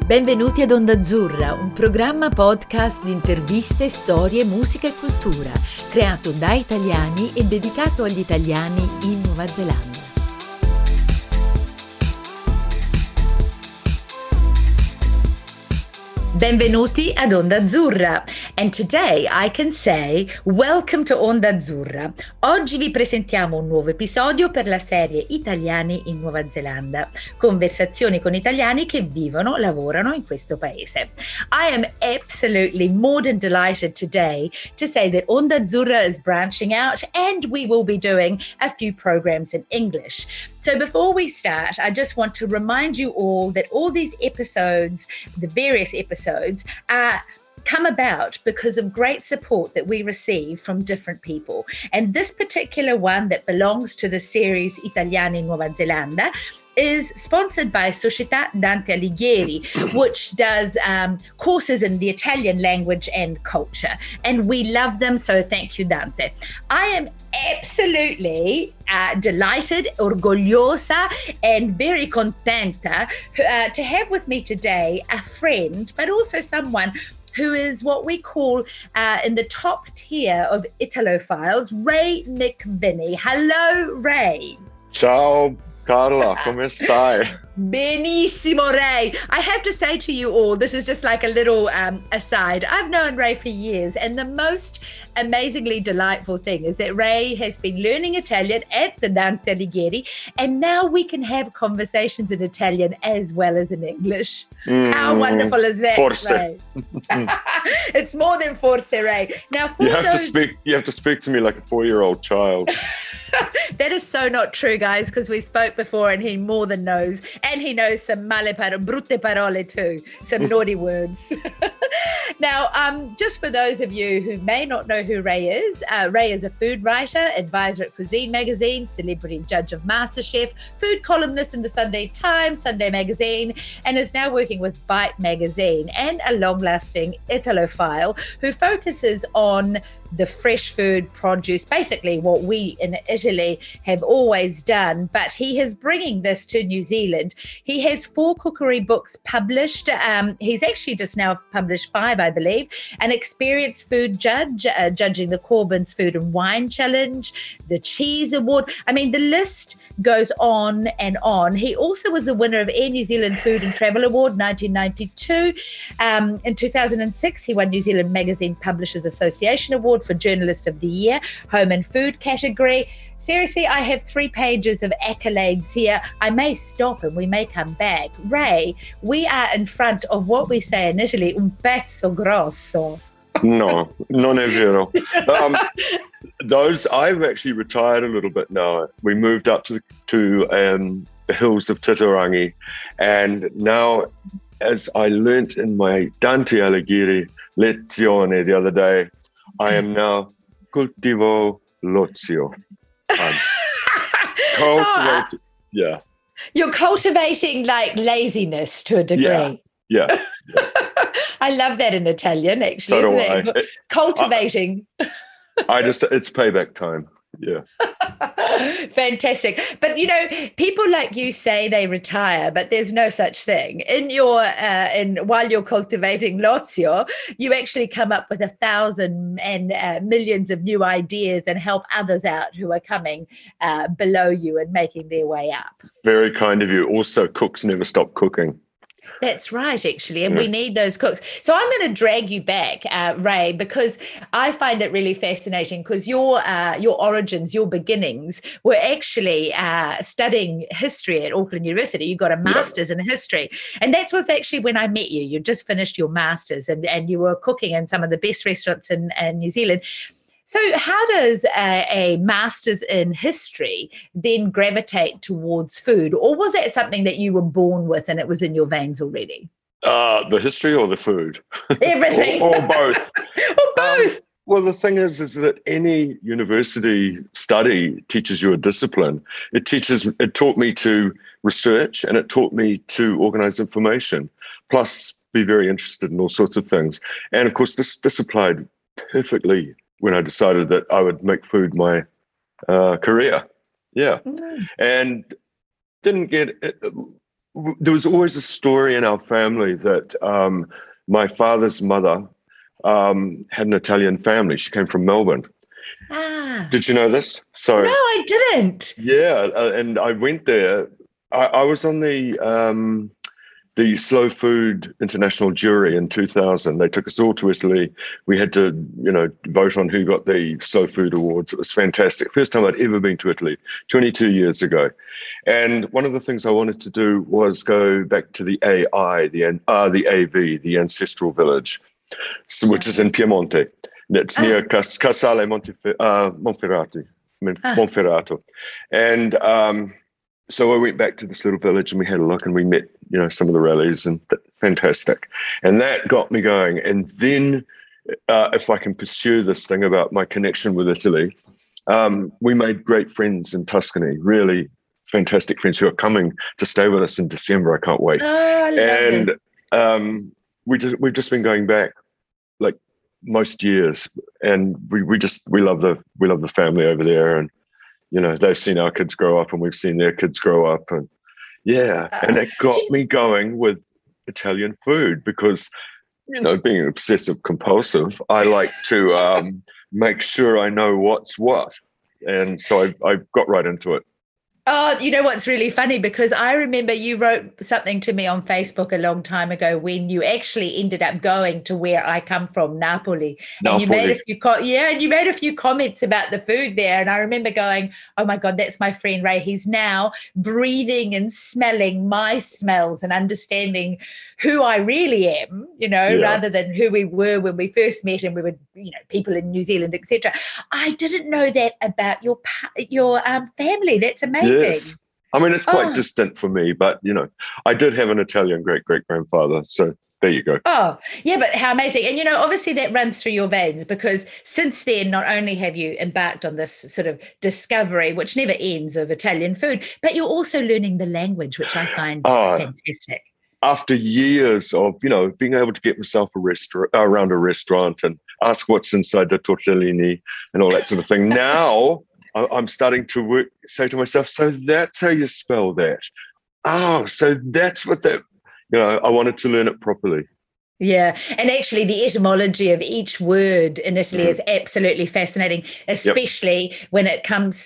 Benvenuti ad Onda Azzurra, un programma podcast di interviste, storie, musica e cultura, creato da italiani e dedicato agli italiani in Nuova Zelanda. Benvenuti ad Onda Azzurra, and today I can say welcome to Onda Azzurra. Oggi vi presentiamo un nuovo episodio per la serie Italiani in Nuova Zelanda, conversazioni con italiani che vivono, lavorano in questo paese. I am absolutely more than delighted today to say that Onda Azzurra is branching out and we will be doing a few programs in English. So before we start, I just want to remind you all that all these episodes, the various episodes, come about because of great support that we receive from different people. And this particular one that belongs to the series Italiani in Nuova Zelanda is sponsored by Società Dante Alighieri, which does courses in the Italian language and culture. And we love them, so thank you, Dante. I am absolutely delighted, orgogliosa, and very contenta to have with me today a friend, but also someone who is what we call in the top tier of Italophiles, Ray McVinney. Hello, Ray. Ciao, Carla, come stai? Benissimo, Ray. I have to say to you all, this is just like a little aside. I've known Ray for years, and the most amazingly delightful thing is that Ray has been learning Italian at the Dante Alighieri, and now we can have conversations in Italian as well as in English. How wonderful is that, Forse. Ray? It's more than forse, Ray. Now, You have to speak to me like a 4-year-old child. That is so not true, guys, because we spoke before and he more than knows. And he knows some brutte parole too, some naughty words. Now, just for those of you who may not know who Ray is a food writer, advisor at Cuisine Magazine, celebrity judge of MasterChef, food columnist in the Sunday Times, Sunday Magazine, and is now working with Bite Magazine, and a long-lasting Italophile who focuses on the fresh food produce, basically what we in Italy have always done, but he is bringing this to New Zealand. He has 4 cookery books published. He's actually just now published 5, I believe. An experienced food judge, judging the Corbyn's Food and Wine Challenge, the Cheese Award. I mean, the list goes on and on. He also was the winner of Air New Zealand Food and Travel Award 1992. In 2006, he won New Zealand Magazine Publishers Association Award for Journalist of the Year, Home and Food category. Seriously, I have 3 pages of accolades here. I may stop and we may come back. Ray, we are in front of what we say in Italy, un pezzo grosso. No, non è vero. I've actually retired a little bit now. We moved up to the hills of Titirangi, and now, as I learnt in my Dante Alighieri lezione the other day, I am now cultivo l'ozio. Cultivating, yeah. You're cultivating like laziness to a degree. Yeah. I love that in Italian, actually. So do isn't it? Cultivating. It's payback time. Yeah. Fantastic. But, people like you say they retire, but there's no such thing. While you're cultivating l'ozio, you actually come up with 1,000 and millions of new ideas and help others out who are coming below you and making their way up. Very kind of you. Also, cooks never stop cooking. That's right, actually, and we need those cooks. So I'm going to drag you back, Ray, because I find it really fascinating because your origins, your beginnings were actually studying history at Auckland University. You got a master's in history, and that's was actually when I met you. You just finished your master's, and you were cooking in some of the best restaurants in New Zealand. So how does a master's in history then gravitate towards food? Or was that something that you were born with and it was in your veins already? The history or the food? Everything. or both. Or both. Well, the thing is that any university study teaches you a discipline. It taught me to research, and it taught me to organize information, plus be very interested in all sorts of things. And of course, this applied perfectly when I decided that I would make food my career. Yeah. And didn't get there was always a story in our family that my father's mother had an Italian family. She came from Melbourne. Ah. Did you know this? So No, I didn't. yeah, and I went there. I was on the Slow Food International jury in 2000. They took us all to Italy. We had to, vote on who got the Slow Food Awards. It was fantastic. First time I'd ever been to Italy, 22 years ago. And one of the things I wanted to do was go back to the the AV, the ancestral village, which is in Piemonte. It's near Casale Monferrato. And so I went back to this little village and we had a look and we met, some of the rallies and fantastic. And that got me going. And then if I can pursue this thing about my connection with Italy, we made great friends in Tuscany, really fantastic friends who are coming to stay with us in December. I can't wait. Oh, I love And we've just been going back like most years, and we love the family over there, and they've seen our kids grow up and we've seen their kids grow up, and and it got me going with Italian food because being obsessive compulsive, I like to make sure I know what's what, and so I got right into it. Oh, you know what's really funny? Because I remember you wrote something to me on Facebook a long time ago when you actually ended up going to where I come from, Napoli. And you made a few and you made a few comments about the food there. And I remember going, oh my God, that's my friend Ray. He's now breathing and smelling my smells and understanding who I really am, rather than who we were when we first met and we were, people in New Zealand, etc. I didn't know that about your family. That's amazing. Yes. I mean, it's quite distant for me, but, I did have an Italian great-great-grandfather. So there you go. Oh, yeah, but how amazing. And, obviously that runs through your veins because since then, not only have you embarked on this sort of discovery, which never ends, of Italian food, but you're also learning the language, which I find fantastic. After years of, being able to get myself around a restaurant and ask what's inside the tortellini and all that sort of thing. Now I'm starting to say to myself, so that's how you spell that. Oh, so that's what that, I wanted to learn it properly. Yeah. And actually the etymology of each word in Italy is absolutely fascinating, especially when it comes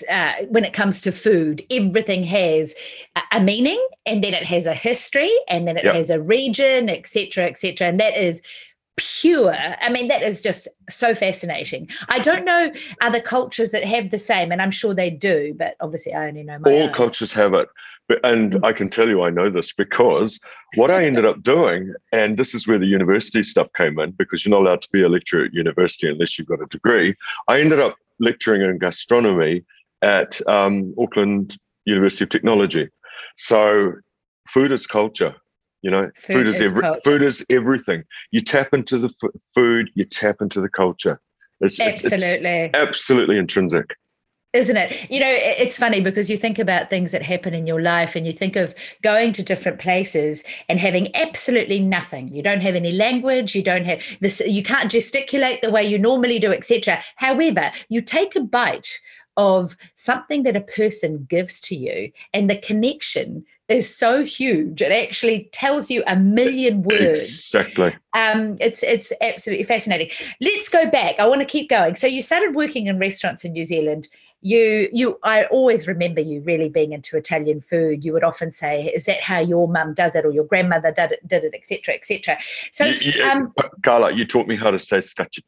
to food. Everything has a meaning, and then it has a history, and then it has a region, et cetera, and that is pure. I mean, that is just so fascinating. I don't know other cultures that have the same, and I'm sure they do, but obviously I only know my own. All cultures have it. And I can tell you I know this because what I ended up doing, and this is where the university stuff came in, because you're not allowed to be a lecturer at university unless you've got a degree. I ended up lecturing in gastronomy at Auckland University of Technology. So food is culture. Food is everything. You tap into the food, you tap into the culture. It's absolutely intrinsic. Isn't it? It's funny because you think about things that happen in your life and you think of going to different places and having absolutely nothing. You don't have any language, you don't have this, you can't gesticulate the way you normally do, etc. However, you take a bite of something that a person gives to you and the connection is so huge. It actually tells you a million words. Exactly. It's absolutely fascinating. Let's go back. I want to keep going. So you started working in restaurants in New Zealand. I always remember you really being into Italian food. You would often say, is that how your mum does it or your grandmother did it, et cetera, et cetera. So, Carla, you taught me how to say scacciata.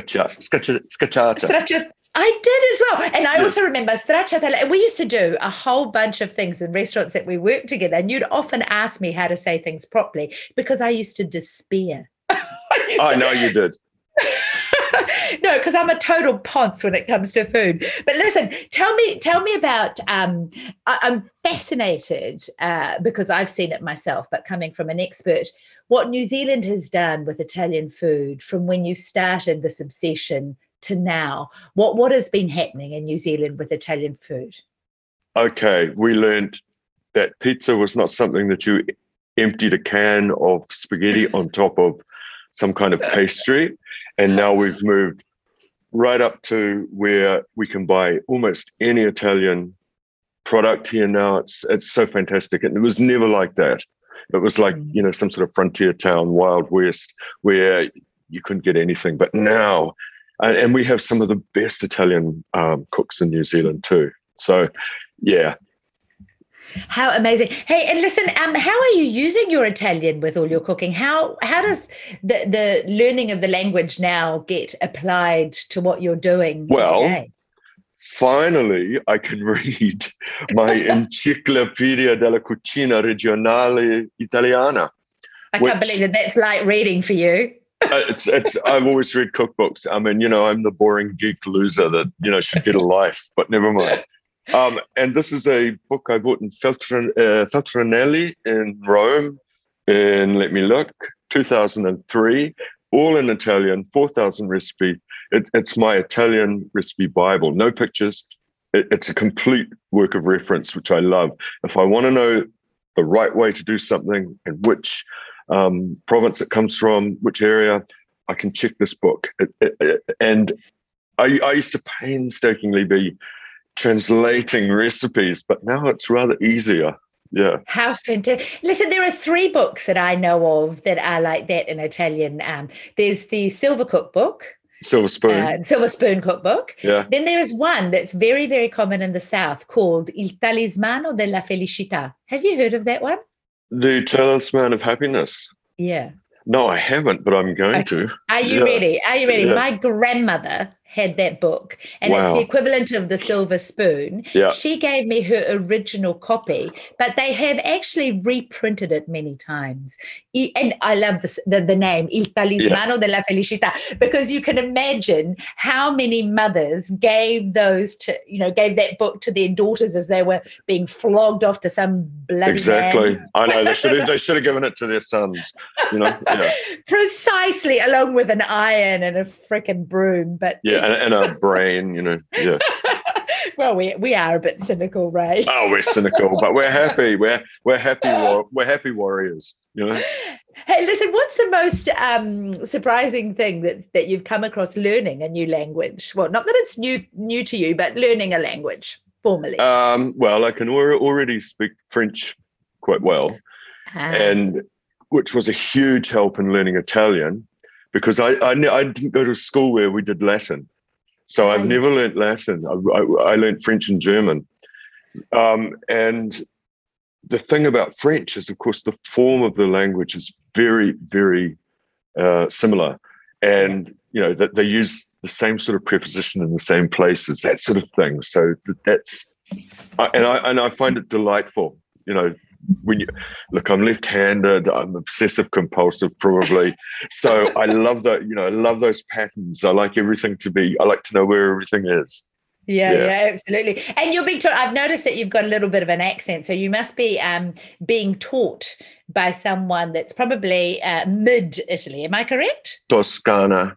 I did as well. And I also remember stracciatella. We used to do a whole bunch of things in restaurants that we worked together. And you'd often ask me how to say things properly because I used to despair. I know you did. No, because I'm a total ponce when it comes to food. But listen, tell me about, I'm fascinated because I've seen it myself, but coming from an expert, what New Zealand has done with Italian food from when you started this obsession to now. What has been happening in New Zealand with Italian food? Okay, we learned that pizza was not something that you emptied a can of spaghetti on top of some kind of pastry. And now we've moved right up to where we can buy almost any Italian product here now. It's so fantastic, and it was never like that. It was like some sort of frontier town, Wild West, where you couldn't get anything. But now, and we have some of the best Italian cooks in New Zealand too. So, yeah. How amazing. Hey, and listen, how are you using your Italian with all your cooking? How does the learning of the language now get applied to what you're doing? Well, finally, I can read my Enciclopedia della Cucina Regionale Italiana. I can't believe that that's like reading for you. I've always read cookbooks. I mean, I'm the boring geek loser that, should get a life, but never mind. And this is a book I bought in Feltrinelli in Rome in, 2003, all in Italian, 4,000 recipe. It's my Italian recipe Bible, no pictures. It's a complete work of reference, which I love. If I want to know the right way to do something and which province it comes from, which area, I can check this book. And I used to painstakingly be translating recipes, but now it's rather easier. Yeah. How fantastic. Listen, there are 3 books that I know of that are like that in Italian. There's the Silver Cookbook. Silver Spoon Cookbook. Yeah. Then there is one that's very, very common in the South called Il Talismano della Felicità. Have you heard of that one? The Talisman of Happiness. Yeah. No, I haven't, but I'm going to. Are you ready? Are you ready? Yeah. My grandmother had that book, and it's the equivalent of the Silver Spoon. Yeah. She gave me her original copy, but they have actually reprinted it many times. And I love the name Il Talismano della Felicità, because you can imagine how many mothers gave gave that book to their daughters as they were being flogged off to some bloody man. I know they should have given it to their sons. Yeah. Precisely, along with an iron and a frickin' broom, but and a brain, yeah. Well, we are a bit cynical, Ray. Oh, we're cynical, but we're happy. We're happy. We're happy warriors. Hey, listen. What's the most surprising thing that you've come across learning a new language? Well, not that it's new to you, but learning a language formally. Well, I can already speak French quite well, and which was a huge help in learning Italian, because I didn't go to school where we did Latin. So I've never learned Latin. I learned French and German. And the thing about French is, of course, the form of the language is very, very similar. And, that they use the same sort of preposition in the same places, that sort of thing. So I find it delightful, when I'm left-handed, I'm obsessive compulsive probably. So I love that, I love those patterns. I like to know where everything is. Yeah, absolutely. And you're being taught, I've noticed that you've got a little bit of an accent. So you must be being taught by someone that's probably mid-Italy. Am I correct? Toscana.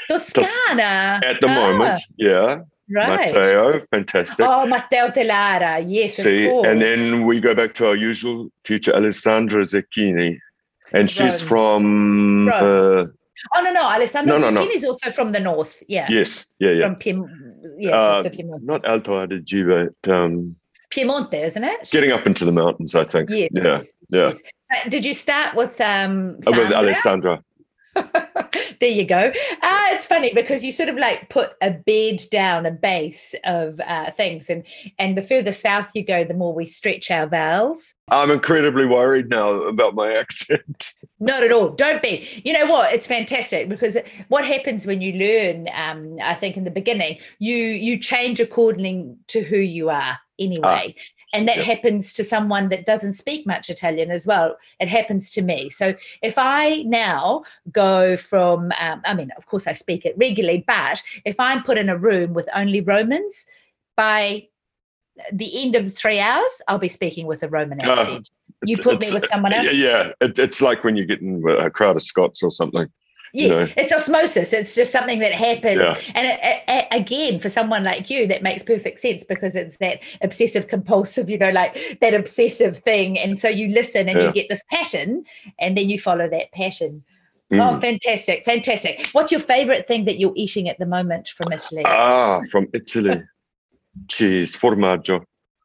At the moment, yeah. Right. Matteo, fantastic. Oh, Matteo Telara, yes, of course. And then we go back to our usual teacher, Alessandra Zecchini, and she's from... no, Alessandra Zecchini no. is also from the north, yeah. Yes, yeah. From Piemonte. Not Alto Adige, but... Piemonte, isn't it? Getting up into the mountains, I think. Yes. Yes. Did you start with Sandra? With Alessandra. There you go. It's funny because you sort of like put a bed down, a base of things, and the further south you go, the more we stretch our vowels. I'm incredibly worried now about my accent. Not at all. Don't be. You know what? It's fantastic, because what happens when you learn, I think in the beginning, you change according to who you are anyway. And that happens to someone that doesn't speak much Italian as well. It happens to me. So if I now go from, of course I speak it regularly, but if I'm put in a room with only Romans, by the end of 3 hours, I'll be speaking with a Roman accent. You put me with someone else? Yeah, it's like when you get in a crowd of Scots or something. Yes, it's osmosis. It's just something that happens. Yeah. And again, for someone like you, that makes perfect sense, because it's that obsessive compulsive, like that obsessive thing. And so you listen and you get this pattern, and then you follow that pattern. Oh, fantastic. Fantastic. What's your favorite thing that you're eating at the moment from Italy? From Italy. Cheese, formaggio.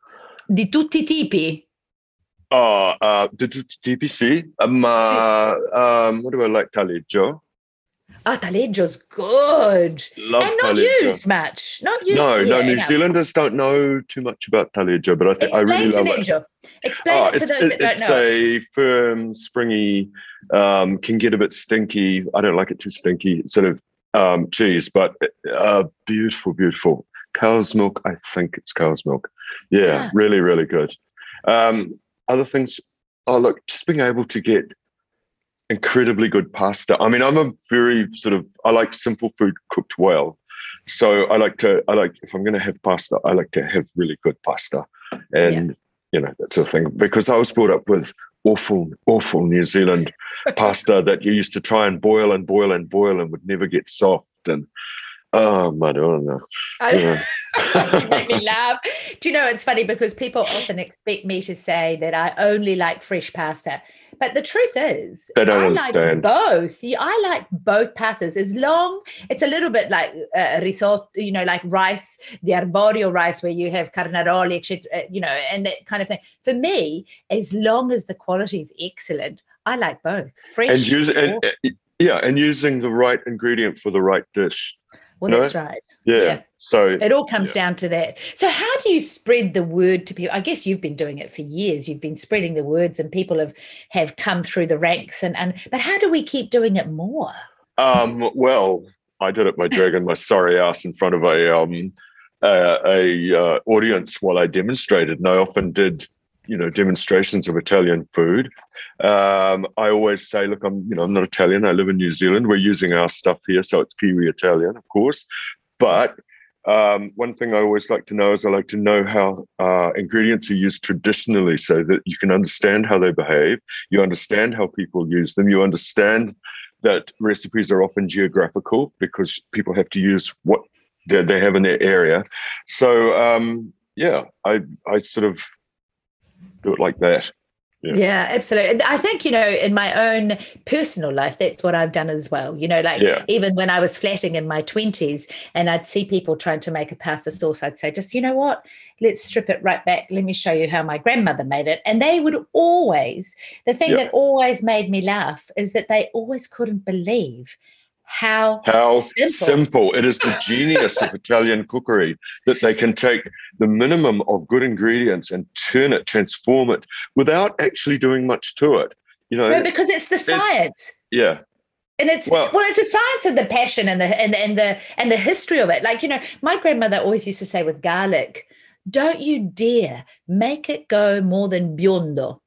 Di tutti i tipi. The DPC. Sì. What do I like? Taleggio. Oh, taleggio's good. Love And not taleggio. used much. Not used No, here New enough. Zealanders don't know too much about taleggio, but I really Explain love it. taleggio. Explain it to those that don't It's know it. a firm, springy, can get a bit stinky. I don't like it too stinky, sort of cheese, but beautiful, beautiful. Cow's milk, I think it's cow's milk. Yeah, Ah, really, really good. Other things, oh, look, just being able to get incredibly good pasta. I mean, I'm a very I like simple food cooked well. So I like, if I'm going to have pasta, I like to have really good pasta. And, that sort of thing. Because I was brought up with awful, awful New Zealand pasta that you used to try and boil and boil and boil and would never get soft. And, oh, Madonna. Yeah. You make me laugh. Do you know, it's funny because people often expect me to say that I only like fresh pasta. But the truth is, They don't I understand. like both. I like both pastas as long, it's a little bit like risotto, like rice, the arborio rice where you have carnaroli, etc., and that kind of thing. For me, as long as the quality is excellent, I like both. Fresh. And using the right ingredient for the right dish. Well, that's right. Yeah. So it all comes down to that. So how do you spread the word to people? I guess you've been doing it for years. You've been spreading the words and people have come through the ranks. But how do we keep doing it more? Well, I did it by dragging my sorry ass in front of a audience while I demonstrated. And I often did, demonstrations of Italian food. I always say, look, I'm not Italian. I live in New Zealand. We're using our stuff here, so it's Kiwi Italian, of course. But one thing I always like to know is I like to know how ingredients are used traditionally so that you can understand how they behave. You understand how people use them. You understand that recipes are often geographical because people have to use what they have in their area. So, I sort of do it like that. Yeah, absolutely. I think, in my own personal life, that's what I've done as well. Even when I was flatting in my 20s and I'd see people trying to make a pasta sauce, I'd say, just, what, let's strip it right back. Let me show you how my grandmother made it. And they would always, the thing that always made me laugh is that they always couldn't believe how simple. It is the genius of Italian cookery that they can take the minimum of good ingredients and transform it without actually doing much to it. No, because it's the science. Yeah. And it's it's the science and the passion and the history of it. Like, my grandmother always used to say with garlic, don't you dare make it go more than biondo.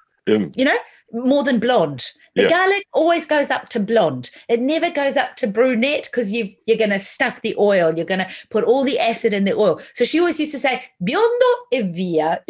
More than blonde. The garlic always goes up to blonde. It never goes up to brunette because you're going to stuff the oil. You're going to put all the acid in the oil. So she always used to say, biondo e via.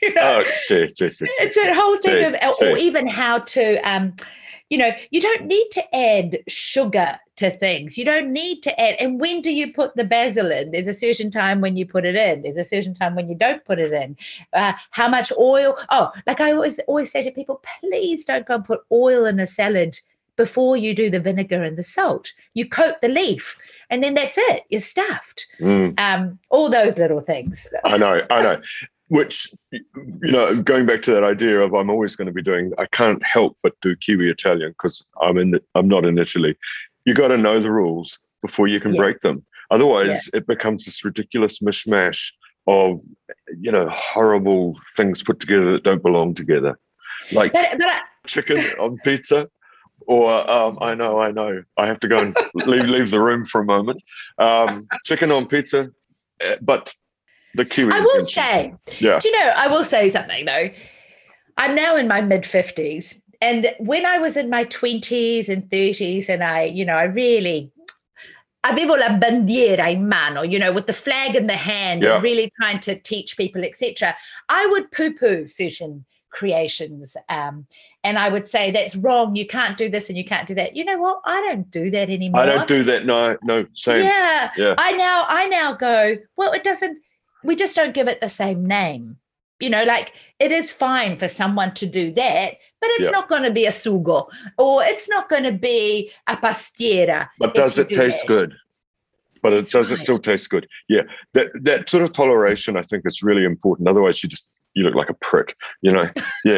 It's a whole thing or even how to, you don't need to add sugar to things. You don't need to add. And when do you put the basil in? There's a certain time when you put it in. There's a certain time when you don't put it in. How much oil? Oh, like I always say to people, please don't go and put oil in a salad before you do the vinegar and the salt. You coat the leaf and then that's it. You're stuffed. All those little things. I know. Which, going back to that idea of I'm always going to be doing, I can't help but do Kiwi Italian because I'm not in Italy. You got to know the rules before you can break them. Otherwise, it becomes this ridiculous mishmash of, horrible things put together that don't belong together. Like chicken on pizza. Or I know. I have to go and leave the room for a moment. Chicken on pizza, but the Kiwi. I will say, I will say something though. I'm now in my mid-50s, and when I was in my 20s and 30s, and I really avevo la bandiera in mano, with the flag in the hand, and really trying to teach people, etc. I would poo-poo certain creations, and I would say that's wrong. You can't do this and you can't do that. You know what? I don't do that anymore. I don't do that. No, same. Yeah. I now go, well, it doesn't. We just don't give it the same name. Like it is fine for someone to do that, but it's not going to be a sugo or it's not going to be a pastiera. But does it taste good? But it still taste good? Yeah. That sort of toleration, I think, is really important. Otherwise, you just you look like a prick, Yeah.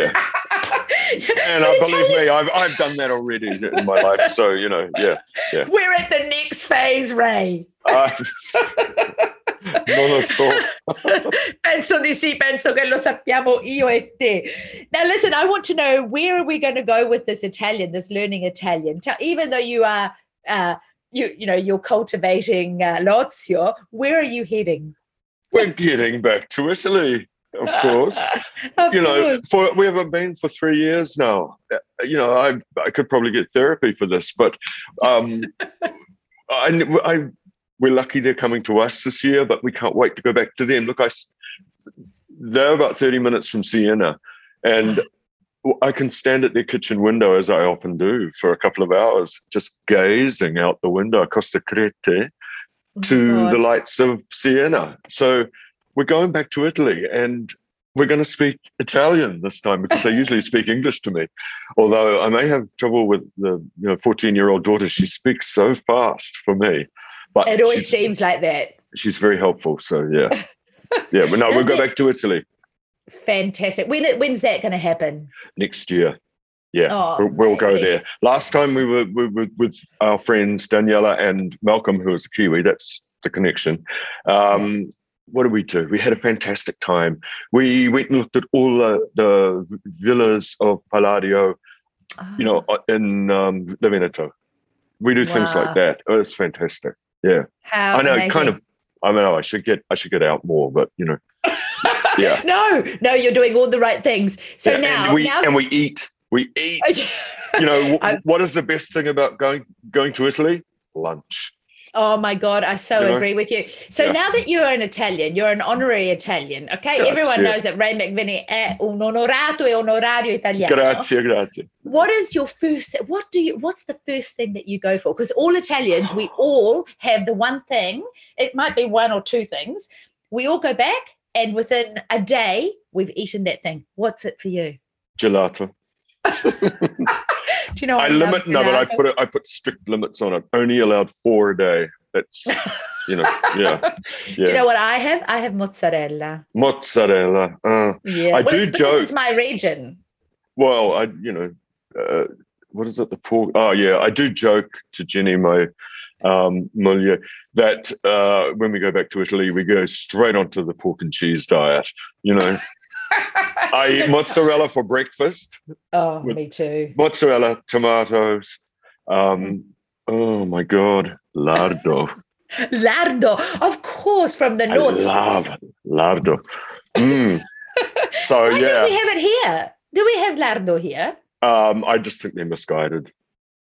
And believe me, I've done that already in my life. So, yeah. We're at the next phase, Ray. Non lo so. Penso di sì, penso che lo sappiamo io e te. Now, listen, I want to know, where are we going to go with this Italian, this learning Italian? Even though you are, you're cultivating l'ozio, where are you heading? We're getting back to Italy, of course. We haven't been for 3 years now. I could probably get therapy for this, but we're lucky they're coming to us this year, but we can't wait to go back to them. Look, they're about 30 minutes from Siena, and I can stand at their kitchen window, as I often do, for a couple of hours, just gazing out the window across the Crete to the lights of Siena. So we're going back to Italy, and we're going to speak Italian this time, because they usually speak English to me. Although I may have trouble with the 14-year-old daughter. She speaks so fast for me. But it always seems like that. She's very helpful. So, yeah. Yeah, but no, we'll go back to Italy. Fantastic. When's that going to happen? Next year. Yeah, we'll go there. Last time we were with our friends Daniela and Malcolm, who was the Kiwi. That's the connection. What did we do? We had a fantastic time. We went and looked at all the villas of Palladio, in the Veneto. We do things like that. Oh, it's fantastic. Yeah. How I know, amazing. I know I should get out more, but yeah. No, you're doing all the right things. So now we eat. We eat. What is the best thing about going to Italy? Lunch. Oh my God, I so agree with you. So now that you're an Italian, you're an honorary Italian, okay? Grazie. Everyone knows that Ray McVinnie è un onorato e onorario italiano. Grazie. What is your what's the first thing that you go for? Because all Italians, we all have the one thing. It might be one or two things. We all go back, and within a day, we've eaten that thing. What's it for you? Gelato. Do you know what but I put strict limits on it. Only allowed 4 a day. That's yeah. Do you know what I have? I have mozzarella. Mozzarella. Yeah. I do joke. It's my region. Well, what is it? The pork. Oh yeah, I do joke to Jenny, my moglie, that when we go back to Italy, we go straight onto the pork and cheese diet. I eat mozzarella for breakfast. Oh, me too. Mozzarella, tomatoes. Oh my God, lardo. Lardo, of course, from the north. I love lardo. So Why don't we have it here? Do we have lardo here? I just think they're misguided.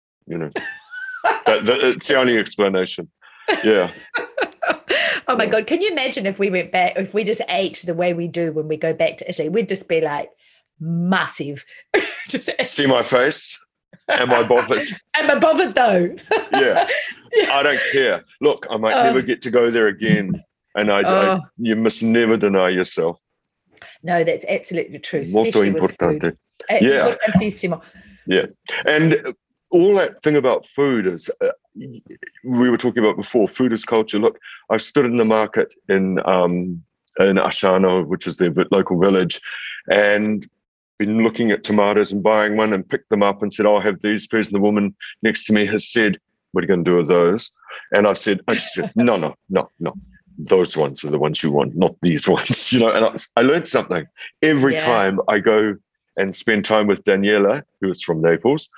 It's the only explanation. Yeah. Oh my God, can you imagine if we went back, if we just ate the way we do when we go back to Italy? We'd just be like massive. See my face? Am I bothered? Am I bothered though? Yeah. I don't care. Look, I might never get to go there again. And you must never deny yourself. No, that's absolutely true. Molto importante. Yeah. Importantissimo. Yeah. And all that thing about food is, we were talking about before, food is culture. Look, I've stood in the market in Asciano, which is the local village, and been looking at tomatoes and buying one and picked them up and said, I'll have these, please. And the woman next to me has said, what are you going to do with those? And I said, no. Those ones are the ones you want, not these ones. And I learned something. Every time I go and spend time with Daniela, who is from Naples,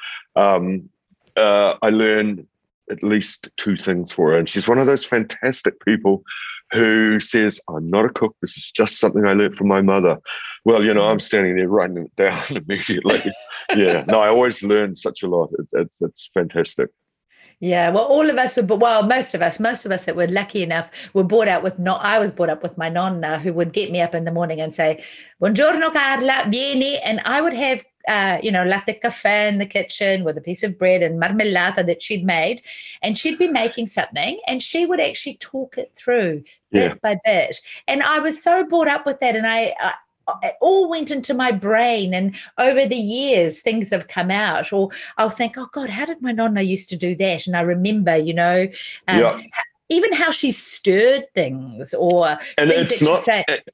I learn at least 2 things for her. And she's one of those fantastic people who says, I'm not a cook. This is just something I learned from my mother. Well, I'm standing there writing it down immediately. Yeah. No, I always learn such a lot. It's fantastic. Yeah, well, all of us most of us that were lucky enough were brought up with I was brought up with my nonna, who would get me up in the morning and say, Buongiorno Carla, vieni. And I would have, latte caffè in the kitchen with a piece of bread and marmellata that she'd made. And she'd be making something and she would actually talk it through bit by bit. And I was so brought up with that. And it all went into my brain, and over the years things have come out, or I'll think, oh God, how did my nonna used to do that? And I remember, even how she stirred things, or and things it's not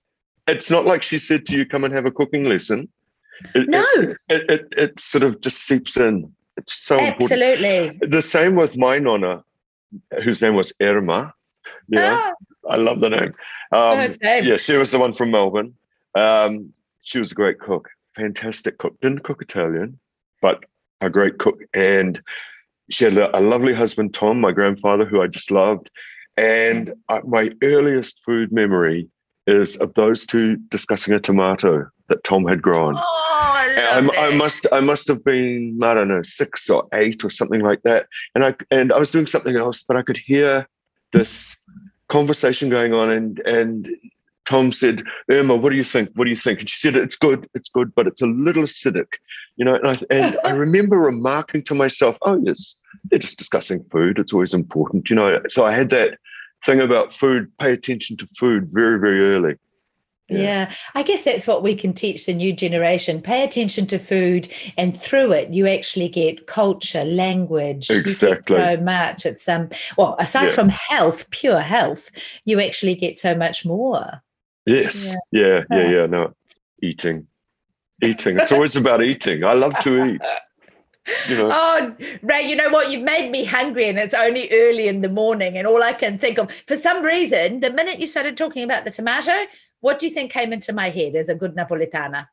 it's not like she said to you, come and have a cooking lesson. No. It sort of just seeps in. It's so important. Absolutely. The same with my nonna, whose name was Irma. Yeah, I love the name. Same. Yeah, she was the one from Melbourne. She was a great cook, fantastic cook. Didn't cook Italian, but a great cook. And she had a lovely husband, Tom, my grandfather, who I just loved. And my earliest food memory is of those two discussing a tomato that Tom had grown. I must have been, I don't know, 6 or 8 or something like that. And I was doing something else, but I could hear this conversation going on, and Tom said, Irma, what do you think? What do you think? And she said, it's good, but it's a little acidic, and I remember remarking to myself, oh yes, they're just discussing food. It's always important, So I had that thing about food, pay attention to food very, very early. Yeah, I guess that's what we can teach the new generation. Pay attention to food, and through it, you actually get culture, language. Exactly. You get so much. It's aside from health, pure health, you actually get so much more. Yes. Yeah. No, eating. It's always about eating. I love to eat. Oh, Ray, you know what? You've made me hungry, and it's only early in the morning, and all I can think of, for some reason, the minute you started talking about the tomato, what do you think came into my head as a good Napoletana?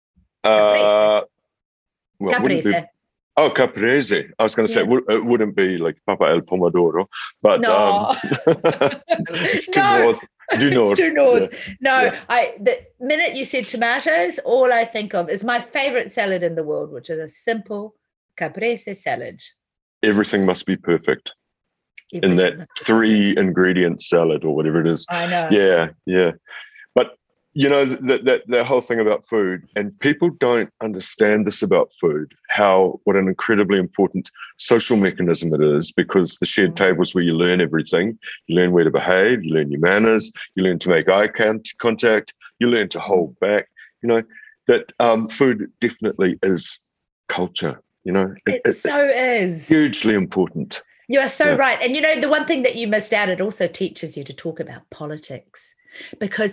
Caprese. Caprese. I was going to say it wouldn't be like Papa El Pomodoro, but no. It's too north. It's too north. No, the minute you said tomatoes, all I think of is my favorite salad in the world, which is a simple Caprese salad. Everything must be perfect in that 3-ingredient salad or whatever it is. I know. Yeah. But that whole thing about food, and people don't understand this about food, what an incredibly important social mechanism it is, because the shared tables where you learn everything, you learn where to behave, you learn your manners, you learn to make eye contact, you learn to hold back, that food definitely is culture, It so is. Hugely important. You are so right. And the one thing that you missed out, it also teaches you to talk about politics, because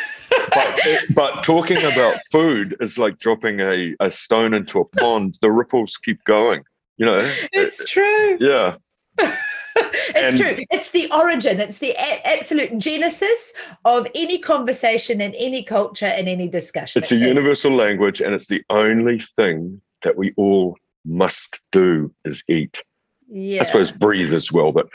but talking about food is like dropping a stone into a pond. The ripples keep going, It's true. Yeah. It's true. It's the origin. It's the absolute genesis of any conversation in any culture and any discussion. It's a universal language, and it's the only thing that we all must do is eat. Yeah. I suppose breathe as well, but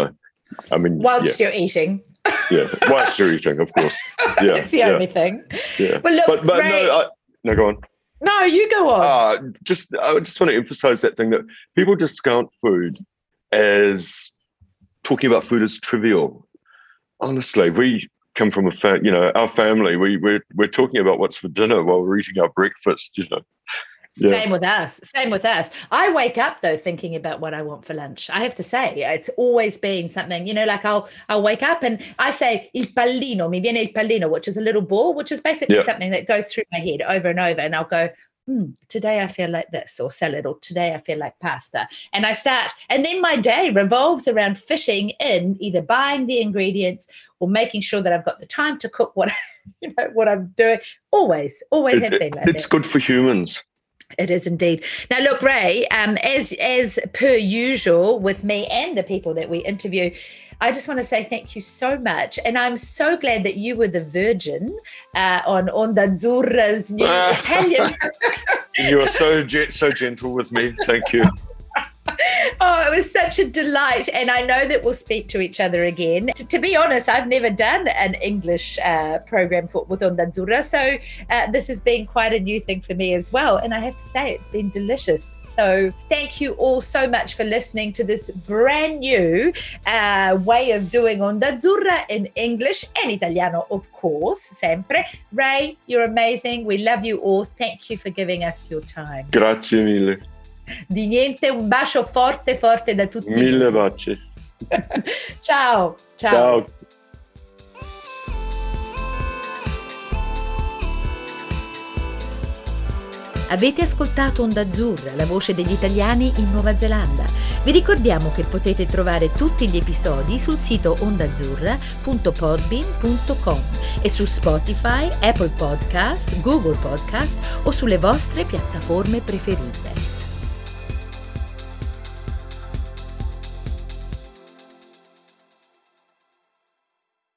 whilst you're eating. Yeah, whilst you're eating, of course. Yeah, it's the only thing. Yeah, but look, but Ray, no, go on. No, you go on. I just want to emphasize that thing that people discount food as talking about food as trivial. Honestly, we come from our family. We're talking about what's for dinner while we're eating our breakfast. Yeah. Same with us. I wake up though thinking about what I want for lunch. I have to say, it's always been something, like I'll wake up and I say il pallino, mi viene il pallino, which is a little ball, which is basically something that goes through my head over and over, and I'll go, today I feel like this, or salad, or today I feel like pasta. And I start, and then my day revolves around fitting in either buying the ingredients or making sure that I've got the time to cook what I'm doing. Always has been like that. It's good for humans. It is indeed. Now, look, Ray, as per usual with me and the people that we interview, I just want to say thank you so much. And I'm so glad that you were the virgin on Onda Azzurra's new Italian. You are so gentle with me. Thank you. Oh, it was such a delight. And I know that we'll speak to each other again. To be honest, I've never done an English program with Onda Azzurra. So this has been quite a new thing for me as well. And I have to say, it's been delicious. So thank you all so much for listening to this brand new way of doing Onda Azzurra in English and Italiano, of course, sempre. Ray, you're amazing. We love you all. Thank you for giving us your time. Grazie mille. Di niente, un bacio forte da tutti. Mille baci. Ciao. Ciao. Avete ascoltato Onda Azzurra, la voce degli italiani in Nuova Zelanda. Vi ricordiamo che potete trovare tutti gli episodi sul sito ondaazzurra.podbean.com e su Spotify, Apple Podcast, Google Podcast o sulle vostre piattaforme preferite.